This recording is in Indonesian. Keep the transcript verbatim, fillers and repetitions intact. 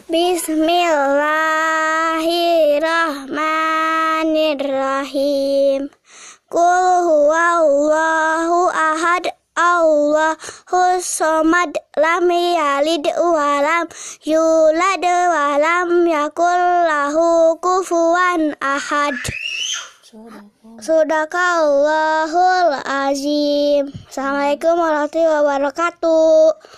Bismillahirrahmanirrahim. Qul huwallahu ahad, Allahus somad, lam yalid walam yulad walam yakul lahu kufuwan ahad. Sadaqallahul azim. Assalamualaikum warahmatullahi wabarakatuh.